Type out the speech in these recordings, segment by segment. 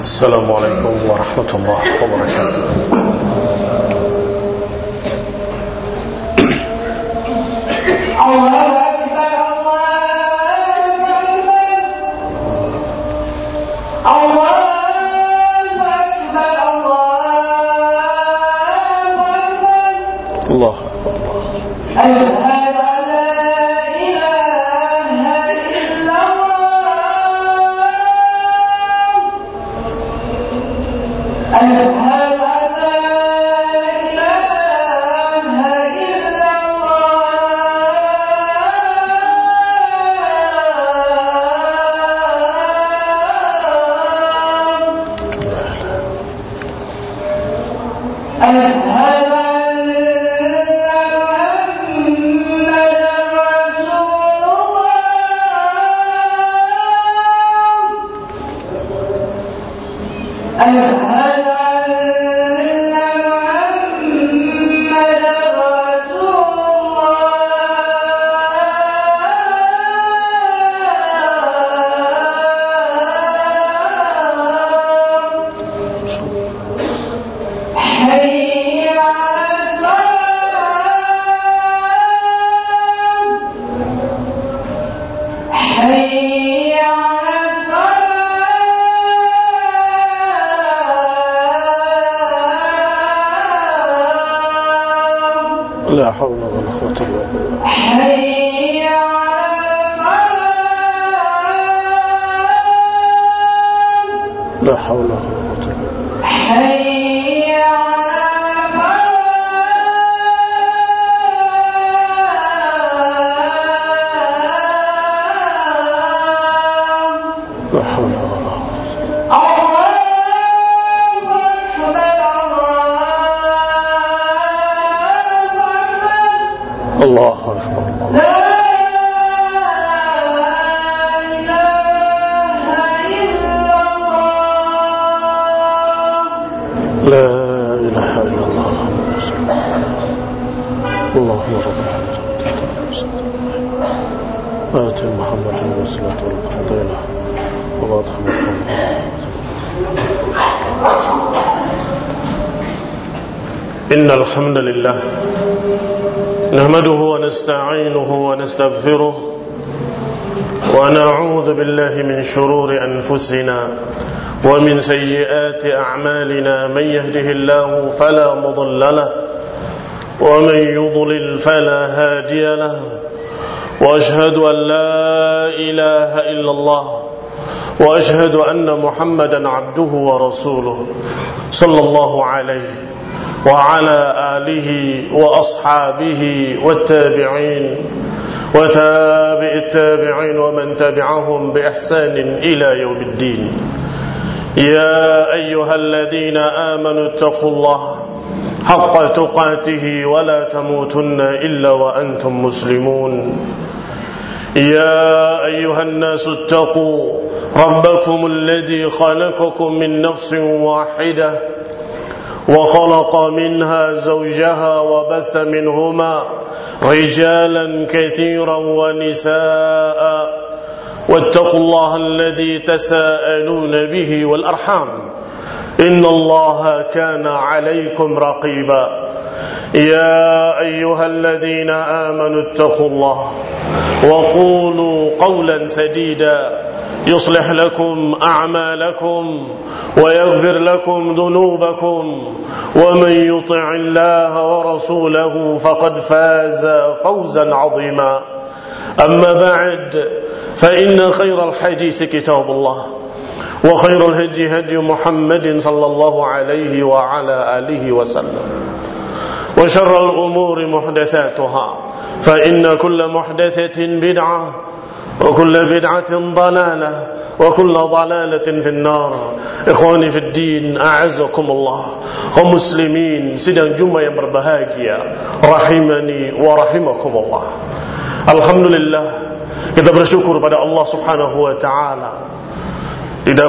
السلام عليكم ورحمة الله وبركاته. الله لا حول ولا قوة إلا بالله. حي على الفلاح. لا حول ولا قوة إلا بالله. حي على الفلاح. لا حول ولا قوة. الله أكبر. لا إله إلا الله. لا إله إلا الله. اللهم رب آت محمد الوسيلة والفضيلة وبعثه مقام. إن الحمد لله نحمده ونستعينه ونستغفره ونعوذ بالله من شرور أنفسنا ومن سيئات أعمالنا. من يهده الله فلا مضل له ومن يضلل فلا هادي له، وأشهد أن لا إله إلا الله وأشهد أن محمدا عبده ورسوله صلى الله عليه وعلى آله وأصحابه والتابعين وتابع التابعين ومن تبعهم بإحسان إلى يوم الدين. يا أيها الذين آمنوا اتقوا الله حق تقاته ولا تموتن إلا وأنتم مسلمون. يا أيها الناس اتقوا ربكم الذي خلقكم من نفس واحدة وخلق منها زوجها وبث منهما رجالا كثيرا ونساء، واتقوا الله الذي تساءلون به والأرحام إن الله كان عليكم رقيبا. يا أيها الذين آمنوا اتقوا الله وقولوا قولا سديدا يصلح لكم أعمالكم ويغفر لكم ذنوبكم، ومن يطع الله ورسوله فقد فاز فوزا عظيما. أما بعد، فإن خير الحديث كتاب الله وخير الهدي هدي محمد صلى الله عليه وعلى آله وسلم، وشر الأمور محدثاتها، فإن كل محدثة بدعة وكل بدعة ضلالة وكل ضلالة في النار. Ikhwani fi din, a'azzakumullah, kaum muslimin sidang Jumat yang berbahagia, rahimani wa rahimakumullah. Alhamdulillah, kita bersyukur pada Allah Subhanahu wa taala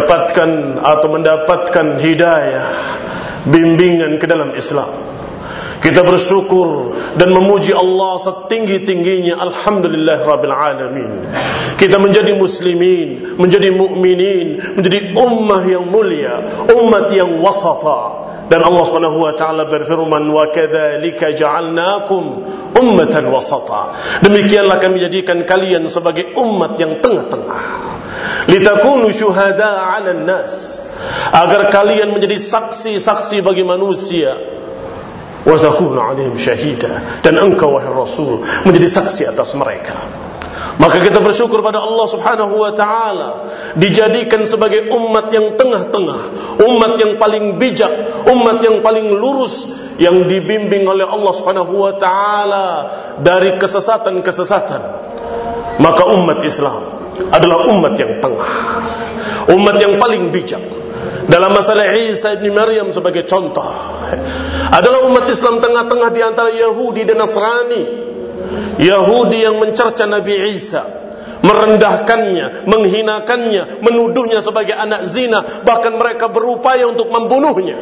didapatkan atau mendapatkan hidayah, bimbingan ke dalam Islam. Kita bersyukur dan memuji Allah setinggi-tingginya. Alhamdulillah Rabbil Alamin. Kita menjadi muslimin, menjadi mukminin, menjadi ummah yang mulia, umat yang wasata. Dan Allah Subhanahu wa taala berfirman, "Wa kadzalika ja'alnakum ummatan wasata." Demikianlah kami jadikan kalian sebagai umat yang tengah-tengah. Litakunu syuhada'a 'alan nas. Agar kalian menjadi saksi-saksi bagi manusia. Wa takunu 'alaihim syahida. Dan engkau wahai Rasul menjadi saksi atas mereka. Maka kita bersyukur pada Allah Subhanahu wa taala dijadikan sebagai umat yang tengah-tengah, umat yang paling bijak, umat yang paling lurus, yang dibimbing oleh Allah Subhanahu wa taala dari kesesatan-kesesatan. Maka umat Islam adalah umat yang tengah, umat yang paling bijak. Dalam masalah Isa ibn Maryam sebagai contoh, adalah umat Islam tengah-tengah di antara Yahudi dan Nasrani. Yahudi yang mencerca Nabi Isa, merendahkannya, menghinakannya, menuduhnya sebagai anak zina, bahkan mereka berupaya untuk membunuhnya.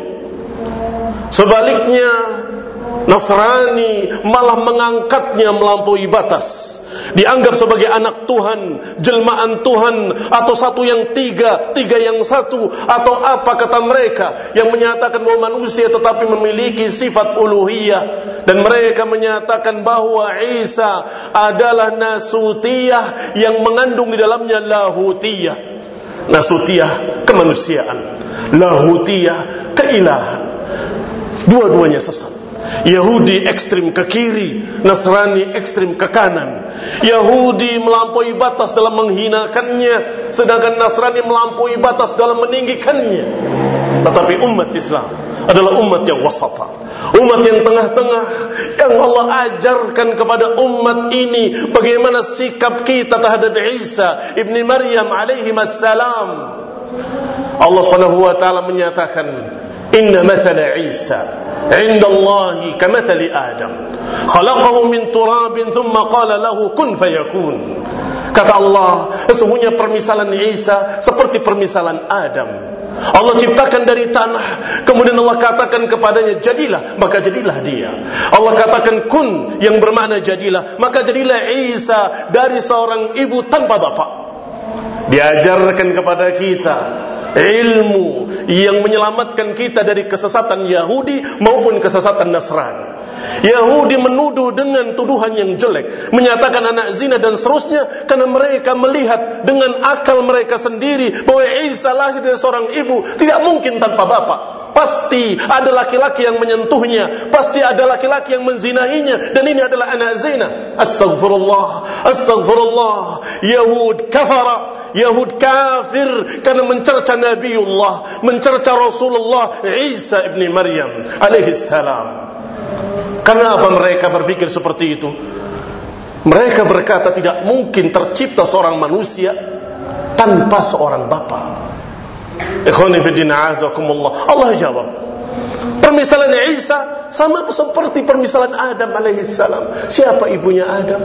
Sebaliknya Nasrani malah mengangkatnya melampaui batas, dianggap sebagai anak Tuhan, jelmaan Tuhan, atau satu yang tiga, tiga yang satu, atau apa kata mereka yang menyatakan bahwa manusia tetapi memiliki sifat uluhiyah. Dan mereka menyatakan bahwa Isa adalah nasutiyah yang mengandung di dalamnya lahutiyah. Nasutiyah kemanusiaan, lahutiyah keilahan. Dua-duanya sesat. Yahudi ekstrim ke kiri, Nasrani ekstrim ke kanan. Yahudi melampaui batas dalam menghinakannya, sedangkan Nasrani melampaui batas dalam meninggikannya. Tetapi umat Islam adalah umat yang wasata, umat yang tengah-tengah, yang Allah ajarkan kepada umat ini bagaimana sikap kita terhadap Isa ibn Maryam alaihi assalam. Allah Subhanahu wa taala menyatakan, "Inna mathala Isa 'inda Allahi kamathali Adam, khalaqahu min turabin thumma qala lahu kun fayakun." Kata Allah, sesungguhnya permisalan Isa seperti permisalan Adam. Allah ciptakan dari tanah, kemudian Allah katakan kepadanya jadilah, maka jadilah dia. Allah katakan kun, yang bermakna jadilah, maka jadilah Isa dari seorang ibu tanpa bapak. Diajarkan kepada kita ilmu yang menyelamatkan kita dari kesesatan Yahudi maupun kesesatan Nasrani. Yahudi menuduh dengan tuduhan yang jelek, menyatakan anak zina dan seterusnya, karena mereka melihat dengan akal mereka sendiri bahwa Isa lahir dari seorang ibu, tidak mungkin tanpa bapak. Pasti ada laki-laki yang menyentuhnya, pasti ada laki-laki yang menzinahinya, dan ini adalah anak zina. Astagfirullah, astagfirullah. Yahud kafara, Yahud kafir karena mencerca Nabiullah, mencerca Rasulullah Isa ibn Maryam alaihi salam. Kenapa mereka berpikir seperti itu? Mereka berkata tidak mungkin tercipta seorang manusia tanpa seorang bapa. Ikhwani fi din a'azakumullah. Allah jawab, permisalan Isa sama seperti permisalan Adam alaihi salam. Siapa ibunya Adam?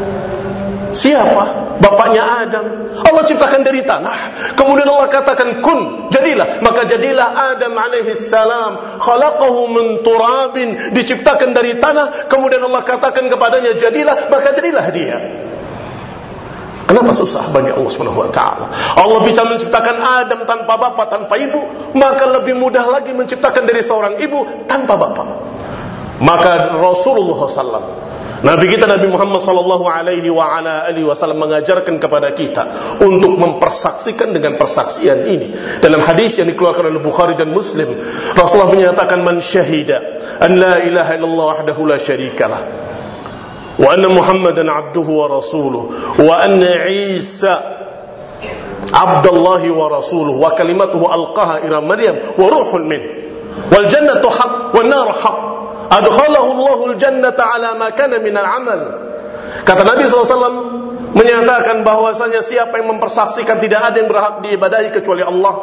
Siapa bapaknya Adam? Allah ciptakan dari tanah, kemudian Allah katakan kun, jadilah, maka jadilah Adam alaihi salam. Khalaqahu min turabin, diciptakan dari tanah, kemudian Allah katakan kepadanya jadilah, maka jadilah dia. Kenapa susah bagi Allah Subhanahu wa taala? Allah bisa menciptakan Adam tanpa bapak, tanpa ibu, maka lebih mudah lagi menciptakan dari seorang ibu tanpa bapak. Maka Rasulullah SAW, Nabi kita Nabi Muhammad sallallahu alaihi wa ala alihi wasallam mengajarkan kepada kita untuk mempersaksikan dengan persaksian ini. Dalam hadis yang dikeluarkan oleh Bukhari dan Muslim, Rasulullah menyatakan, "Man syahida an la ilaha illallah wahdahu la syarikalah wa anna Muhammadan abduhu wa rasuluhu wa anna Isa abdullahi wa rasuluhu wa kalimatuhu alqaha ila Maryam wa ruhun min wal jannatu haqq wan nar haqq adkhalahu Allahul jannata ala ma kana min al-amal." Kata Nabi SAW menyatakan bahwasanya siapa yang mempersaksikan tidak ada yang berhak diibadahi kecuali Allah,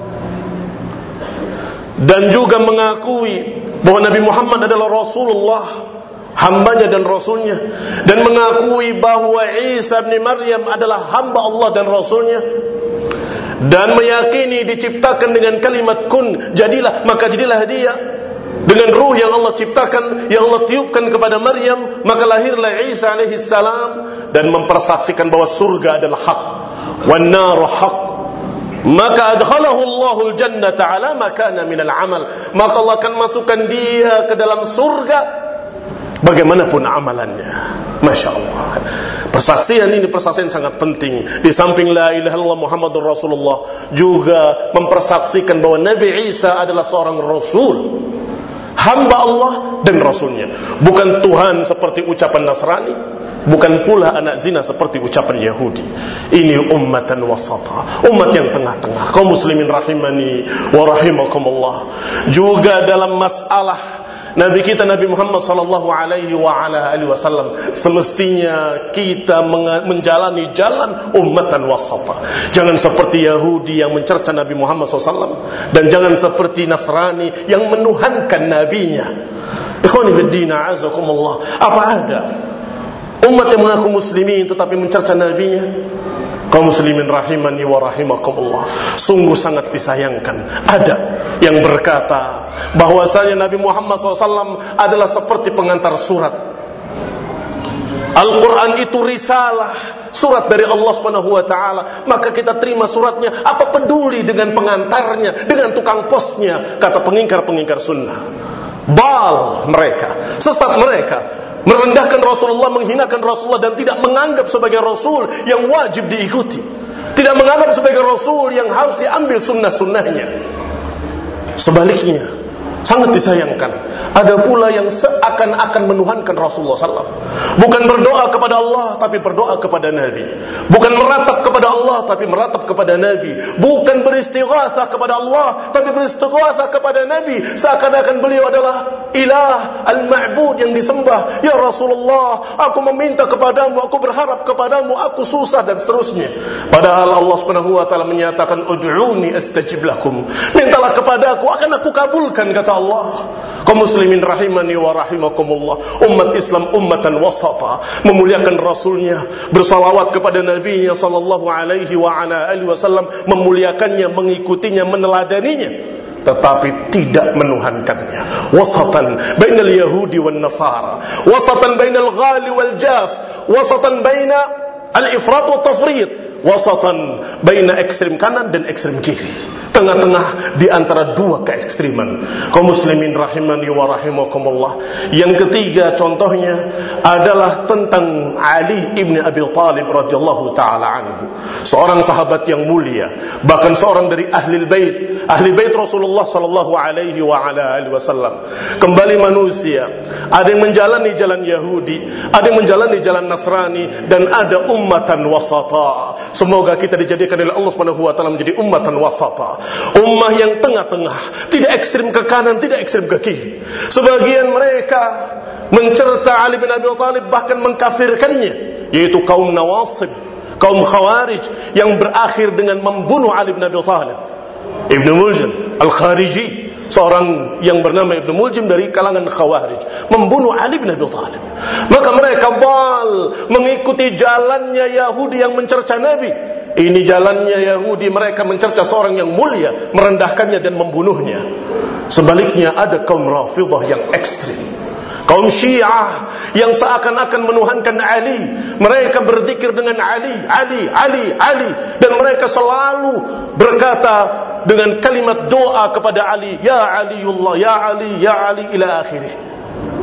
dan juga mengakui bahwa Nabi Muhammad adalah Rasulullah, hambanya dan rasulnya, dan mengakui bahwa Isa bin Maryam adalah hamba Allah dan rasulnya, dan meyakini diciptakan dengan kalimat kun, jadilah, maka jadilah dia, dengan ruh yang Allah ciptakan, yang Allah tiupkan kepada Maryam, maka lahirlah Isa alaihi salam dan mempersaksikan bahwa surga adalah hak, wan naru haq. Maka adkhalahu Allahul jannata ala ma kana minal amal. Maka Allah akan masukkan dia ke dalam surga bagaimanapun amalannya. Masya Allah. Persaksian ini persaksian sangat penting. Di samping la ilaha illallah Muhammadur Rasulullah, juga mempersaksikan bahwa Nabi Isa adalah seorang Rasul, hamba Allah dan Rasulnya. Bukan Tuhan seperti ucapan Nasrani, bukan pula anak zina seperti ucapan Yahudi. Ini ummatan wasata, umat yang tengah-tengah. Kaum muslimin rahimani wa rahimakumullah. Juga dalam masalah Nabi kita Nabi Muhammad sallallahu alaihi wa ala alihi wasallam, semestinya kita menjalani jalan ummatan wasata. Jangan seperti Yahudi yang mencerca Nabi Muhammad SAW, dan jangan seperti Nasrani yang menuhankan nabinya. Ikhwani fiddin, a'azakumullah. Apa ada umat yang mengaku muslimin tetapi mencerca nabinya? Kaum muslimin rahimani wa rahimakumullah, sungguh sangat disayangkan. Ada yang berkata bahwasanya Nabi Muhammad SAW adalah seperti pengantar surat. Al-Quran itu risalah, surat dari Allah Subhanahu wa taala, maka kita terima suratnya. Apa peduli dengan pengantarnya, dengan tukang posnya? Kata pengingkar-pengingkar sunnah. Bal mereka, sesat mereka, merendahkan Rasulullah, menghinakan Rasulullah, dan tidak menganggap sebagai Rasul yang wajib diikuti, tidak menganggap sebagai Rasul yang harus diambil sunnah-sunnahnya. Sebaliknya, sangat disayangkan, ada pula yang seakan-akan menuhankan Rasulullah SAW. Bukan berdoa kepada Allah, tapi berdoa kepada Nabi. Bukan meratap kepada Allah, tapi meratap kepada Nabi. Bukan beristighatsah kepada Allah, tapi beristighatsah kepada Nabi. Seakan-akan beliau adalah ilah, al-ma'bud yang disembah. Ya Rasulullah, aku meminta kepadamu, aku berharap kepadamu, aku susah, dan seterusnya. Padahal Allah Subhanahu wa taala menyatakan, ud'uni astajib lakum. Mintalah kepadaku, akan aku kabulkan, kata Allah. Kaum muslimin rahimani wa rahimakumullah, umat Islam ummatan wasata, memuliakan Rasulnya, bersalawat kepada Nabi-Nya sallallahu alaihi wa ala alihi wasallam, memuliakannya, mengikutinya, meneladaninya, tetapi tidak menuhankannya. Wasatan bainal yahudi wan nasara, wasatan bainal ghali wal jaf, wasatan baina al-ifrat wa tafrid, wasatan baina ekstrem kanan dan ekstrem kiri. Tengah-tengah di antara dua keekstriman. Kaum muslimin rahimani wa rahimakumullah. Yang ketiga contohnya adalah tentang Ali ibn Abi Thalib radhiyallahu taala anhu, seorang sahabat yang mulia, bahkan seorang dari ahli bait Rasulullah sallallahu alaihi wa ala alihi wasallam. Kembali manusia, ada yang menjalani jalan Yahudi, ada yang menjalani jalan Nasrani, dan ada ummatan wasata. Semoga kita dijadikan oleh Allah Subhanahu wa taala menjadi ummatan wasata, ummah yang tengah-tengah, tidak ekstrim ke kanan, tidak ekstrim ke kiri. Sebagian mereka mencerca Ali bin Abi Thalib, bahkan mengkafirkannya, yaitu kaum Nawasib, kaum Khawarij, yang berakhir dengan membunuh Ali bin Abi Thalib. Ibnu Muljim Al-Khariji, seorang yang bernama Ibnu Muljim dari kalangan Khawarij, membunuh Ali bin Abi Thalib. Maka mereka mengikuti jalannya Yahudi yang mencerca Nabi. Ini jalannya Yahudi, mereka mencerca seorang yang mulia, merendahkannya dan membunuhnya. Sebaliknya ada kaum Rafidhah yang ekstrim, kaum Syiah yang seakan-akan menuhankan Ali. Mereka berzikir dengan Ali, Ali, Ali, Ali, dan mereka selalu berkata dengan kalimat doa kepada Ali, ya Aliullah, ya Ali, ya Ali, ila akhirih.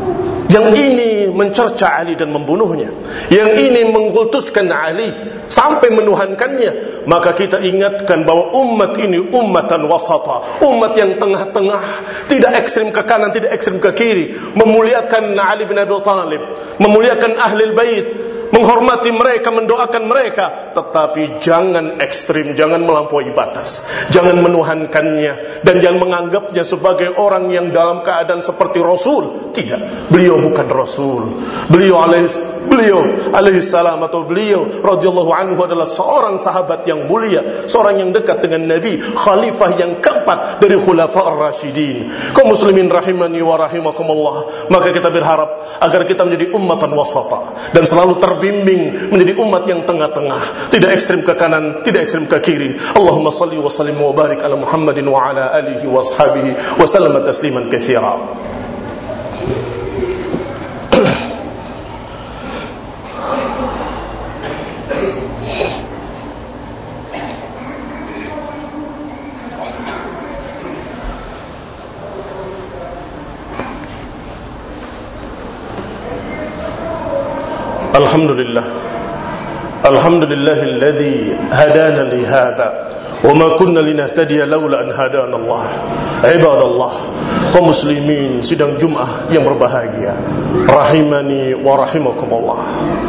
Yang ini mencerca Ali dan membunuhnya, yang ini mengkultuskan Ali sampai menuhankannya. Maka kita ingatkan bahwa umat ini ummatan wasata, umat yang tengah-tengah, tidak ekstrim ke kanan, tidak ekstrim ke kiri, memuliakan Ali bin Abi Thalib, memuliakan ahlul bait, menghormati mereka, mendoakan mereka, tetapi jangan ekstrim, jangan melampaui batas, jangan menuhankannya, dan jangan menganggapnya sebagai orang yang dalam keadaan seperti Rasul. Tidak, beliau bukan Rasul. Beliau alaihi salam atau beliau radhiyallahu anhu adalah seorang sahabat yang mulia, seorang yang dekat dengan Nabi, khalifah yang keempat dari khulafa ar-rasyidin. Kaum muslimin rahimani wa rahimakumullah, maka kita berharap agar kita menjadi ummatan wasata dan selalu terbimbing menjadi umat yang tengah-tengah, tidak ekstrem ke kanan, tidak ekstrem ke kiri. Allahumma salli wa sallim wa barik ala Muhammadin wa ala alihi wa ashabihi wa sallama tasliman katsira. Alhamdulillahilladzi hadana li hadza wa ma kunna linahtadiya laula an hadana Allah. Ibadallah, kaum muslimin sidang Jumat yang berbahagia, rahimani wa rahimakumullah.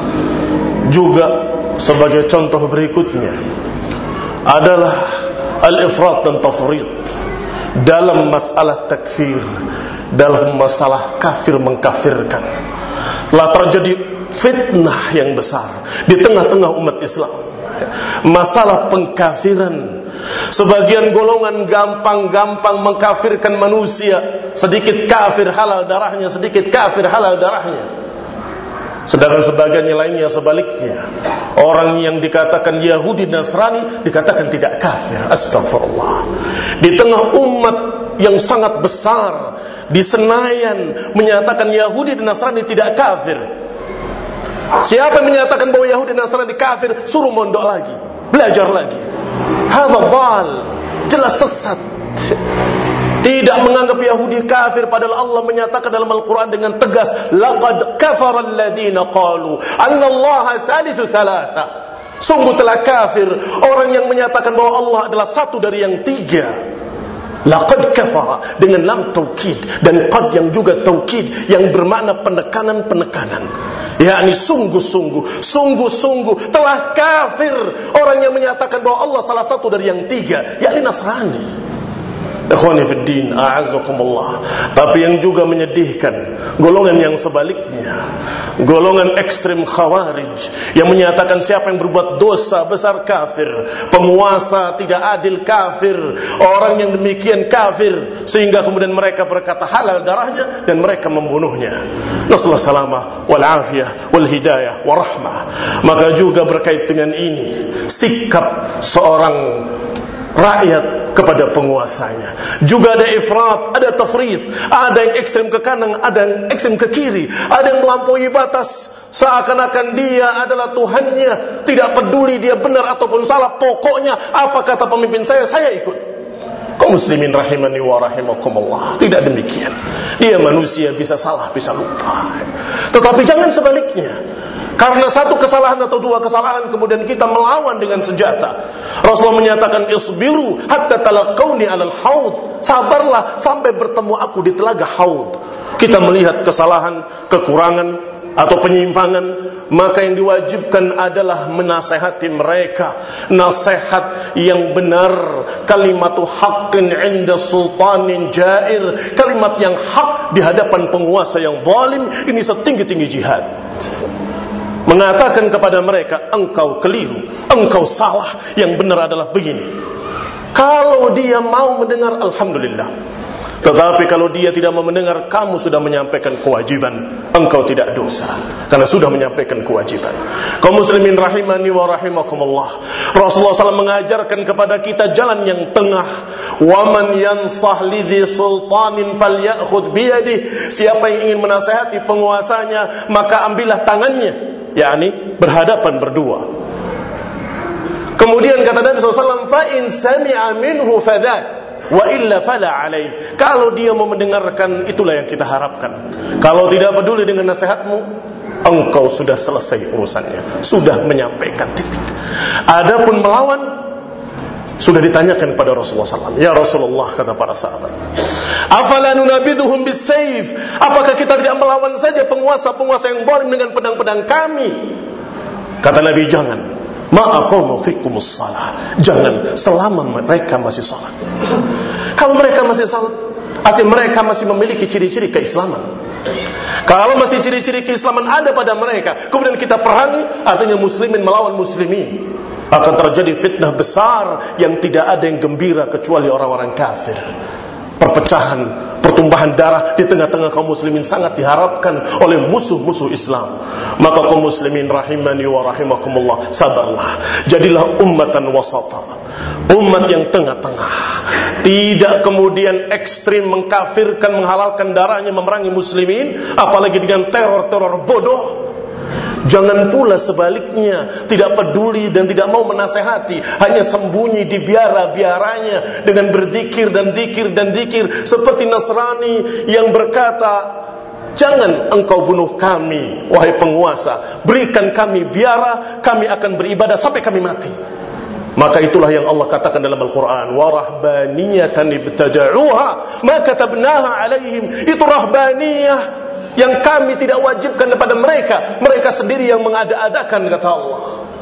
Juga sebagai contoh berikutnya adalah al-ifrat dan tafrid dalam masalah takfir, dalam masalah kafir mengkafirkan. Telah terjadi fitnah yang besar di tengah-tengah umat Islam, masalah pengkafiran. Sebagian golongan gampang-gampang mengkafirkan manusia, sedikit kafir halal darahnya, sedikit kafir halal darahnya. Sedangkan sebagian lainnya sebaliknya, orang yang dikatakan Yahudi Nasrani dikatakan tidak kafir. Astagfirullah. Di tengah umat yang sangat besar di Senayan menyatakan Yahudi dan Nasrani tidak kafir. Siapa yang menyatakan bahwa Yahudi dan Nasrani kafir, suruh mondok lagi, belajar lagi. Hadza dhal, jelas sesat. Tidak menganggap Yahudi kafir, padahal Allah menyatakan dalam Al-Quran dengan tegas, laqad kafara alladhina qalu anna Allaha thalithu thalatha. Sungguh telah kafir orang yang menyatakan bahwa Allah adalah satu dari yang tiga. Laqad kafara dengan lam taukid dan qad yang juga taukid yang bermakna penekanan-penekanan. yakni sungguh-sungguh telah kafir orang yang menyatakan bahwa Allah salah satu dari yang tiga, yakni Nasrani. Ikhwani fid din, a'azzakumullah. Tapi yang juga menyedihkan, golongan yang sebaliknya, golongan ekstrem khawarij yang menyatakan siapa yang berbuat dosa besar kafir, penguasa tidak adil kafir, orang yang demikian kafir, sehingga kemudian mereka berkata halal darahnya dan mereka membunuhnya. Nasallahu salamah wal afiyah wal hidayah wa rahmah. Maka juga berkait dengan ini sikap seorang rakyat kepada penguasanya. Juga ada ifrat, ada tafrid, ada yang ekstrem ke kanan, ada yang ekstrem ke kiri, ada yang melampaui batas seakan-akan dia adalah Tuhannya, tidak peduli dia benar ataupun salah, pokoknya apa kata pemimpin saya ikut. Kaum muslimin rahimani wa rahimakumullah, tidak demikian. Dia manusia, bisa salah, bisa lupa. Tetapi jangan sebaliknya. Karena satu kesalahan atau dua kesalahan kemudian kita melawan dengan senjata. Rasulullah menyatakan isbiru hatta talaqawni 'alal haud. Sabarlah sampai bertemu aku di telaga haud. Kita melihat kesalahan, kekurangan atau penyimpangan, maka yang diwajibkan adalah menasehati mereka. Nasihat yang benar, kalimatu haqqin 'inda sultanin jair. Kalimat yang hak di hadapan penguasa yang zalim, ini setinggi-tinggi jihad. Mengatakan kepada mereka, engkau keliru, engkau salah, yang benar adalah begini. Kalau dia mau mendengar, alhamdulillah. Tetapi kalau dia tidak mau mendengar, kamu sudah menyampaikan kewajiban, engkau tidak dosa karena sudah menyampaikan kewajiban. Kaum muslimin rahimani wa rahimakumullah, Rasulullah SAW mengajarkan kepada kita jalan yang tengah. Waman yansah lidhi sultanin falyakhudh biyadih. Siapa yang ingin menasihati penguasanya, maka ambillah tangannya, yakni berhadapan berdua. Kemudian kata Nabi SAW, fa in sami'a minhu fadhat wa illa fala alaih. Kalau dia mau mendengarkan, itulah yang kita harapkan. Kalau tidak peduli dengan nasihatmu, engkau sudah selesai urusannya, sudah menyampaikan, titik. Adapun melawan, sudah ditanyakan kepada Rasulullah SAW. Ya Rasulullah, kata para sahabat, afala nunabidhuhum bisayf. Apakah kita tidak melawan saja penguasa-penguasa yang zalim dengan pedang-pedang kami? Kata Nabi, jangan. Ma'aqamu fikumus salah. Jangan selama mereka masih salat. Kalau mereka masih salat, artinya mereka masih memiliki ciri-ciri keislaman. Kalau masih ciri-ciri keislaman ada pada mereka, kemudian kita perangi, artinya muslimin melawan muslimin, akan terjadi fitnah besar yang tidak ada yang gembira kecuali orang-orang kafir. perpecahan, pertumpahan darah di tengah-tengah kaum muslimin sangat diharapkan oleh musuh-musuh Islam. Maka kaum muslimin rahimani wa rahimakumullah, sabarlah, jadilah ummatan wasata, umat yang tengah-tengah, tidak kemudian ekstrim mengkafirkan, menghalalkan darahnya, memerangi muslimin, apalagi dengan teror-teror bodoh. Jangan pula sebaliknya, tidak peduli dan tidak mau menasehati, hanya sembunyi di biara-biaranya dengan berzikir dan zikir dan zikir, seperti Nasrani yang berkata, jangan engkau bunuh kami, wahai penguasa, berikan kami biara, kami akan beribadah sampai kami mati. Maka itulah yang Allah katakan dalam Al-Quran, wa rahbaniyatan ibtada'uha ma katabnaha alaihim. Itu rahbaniyah yang kami tidak wajibkan kepada mereka, mereka sendiri yang mengada-adakan, kata Allah.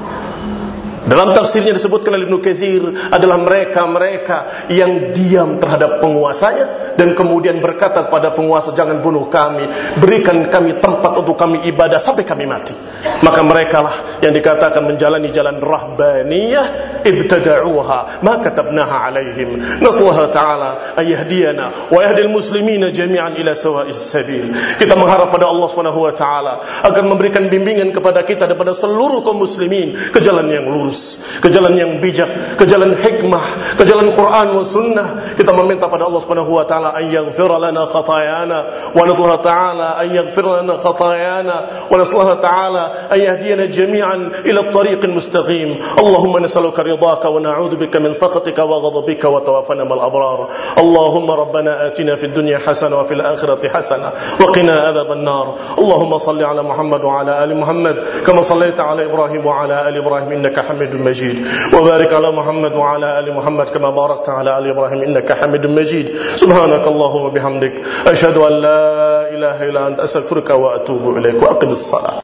Dalam tafsirnya disebutkan oleh Ibnu Katsir, adalah mereka-mereka yang diam terhadap penguasanya dan kemudian berkata kepada penguasa, jangan bunuh kami, berikan kami tempat untuk kami ibadah sampai kami mati. Maka merekalah yang dikatakan menjalani jalan rahbaniyah ibtada'uha ma katabnaha alaihim. Nasallahu ta'ala ayahdiyana wa yahdil muslimina jami'an ila sawa'is sabil. Kita mengharap pada Allah Subhanahu wa taala agar memberikan bimbingan kepada kita dan pada seluruh kaum muslimin ke jalan yang lurus, ke jalan yang bijak, ke jalan hikmah, ke jalan Quran wa sunnah. Kita meminta pada Allah Subhanahu wa taala an yaghfira lana khatayana wa nasallahu ta'ala an yaghfira lana khatayana wa nasallahu ta'ala an yahdiyana jami'an ila at-tariqil mustaqim. Allahumma nas'aluka ridaka wa na'udzu bika min sakhatika wa ghadabika wa tawaffana mal abrar. Allahumma rabbana atina fid dunya hasanah wa fil akhirati hasanah wa qina adhaban nar. Allahumma salli ala Muhammad wa ala ali Muhammad kama sallaita ala Ibrahim wa ala ali Ibrahim innaka حميد مجيد وبارك على محمد وعلى آل محمد كما باركت على آل إبراهيم إنك حميد مجيد. سبحانك اللهم وبحمدك أشهد أن لا إله إلا أنت أستغفرك وأتوب إليك وأقم الصلاة.